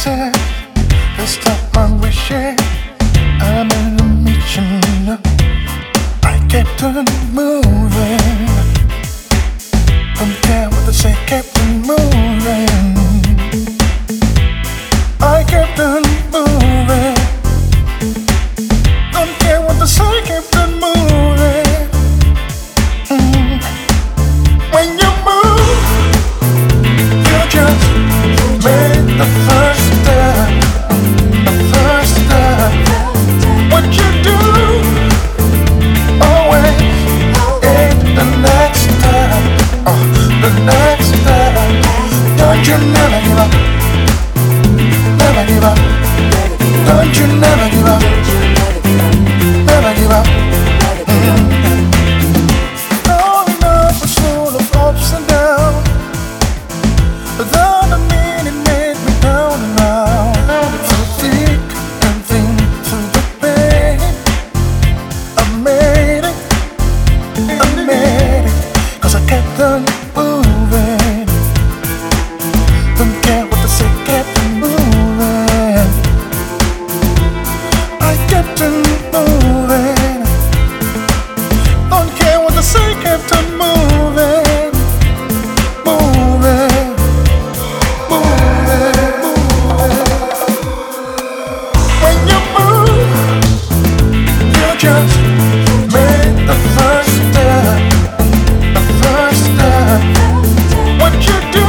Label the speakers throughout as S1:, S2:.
S1: said, let's stop my wishing. I'm in a mission. I kept on moving. Don't care what they say, kept on moving. I kept on moving. Don't care what they say, kept on moving. When you move, you just made the first step. The first step. What you do always ain't the next step. The next step. Don't you never give up. Never give up. Don't you never give up. Never give up. Growing up was full of ups and downs, but then the meaning made me down and out. Through thick and thin, through the pain, I made it, 'cause I kept on moving. Don't care what they say, kept on moving. I kept on moving. Don't care what they say, kept on moving. Moving, moving, moving. When you move, you just made the first step. The first step. What you do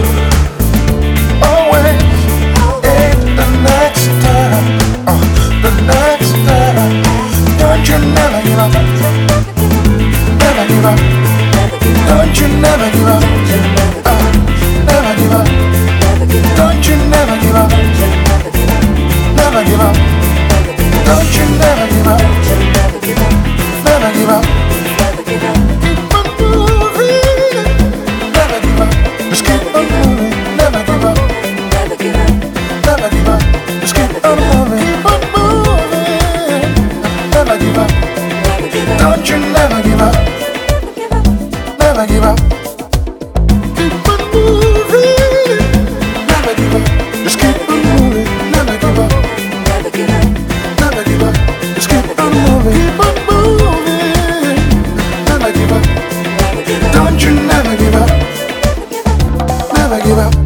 S1: always ain't the next step. The next step. Don't you never give up. Never give up. Don't you never give up. Never give up. Don't you never give up. Never give up. Don't you never give up. Never give up. Keep on moving. Never give up. Just keep on moving. Never give up. Never give up. Just keep on moving. Keep on moving. Never give up. Don't you never give up. Never give up. Keep on moving. Never give up. Just keep on moving. Never give up. Never give up. Just keep on moving. Keep on moving. Never give up. Don't you never give up. Never give up.